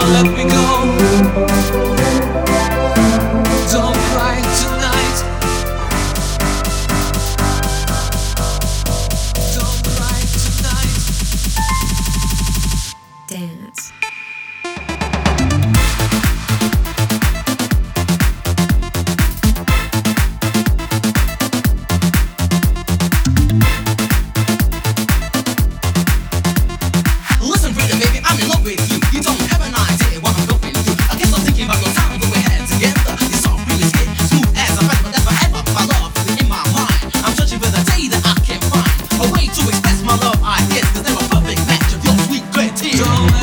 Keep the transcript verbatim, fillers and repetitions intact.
let me go. Don't cry tonight. Don't cry tonight. Dance. Listen, pretty baby, I'm in love with you. You don't have an idea what I'm going through. I guess I'm thinking about your time when we had together. It's all really skin, smooth as a feather, but forever. My love is in my mind. I'm searching for the day that I can find a way to express my love. I guess 'cause they're a perfect match of your sweet great tears. Don't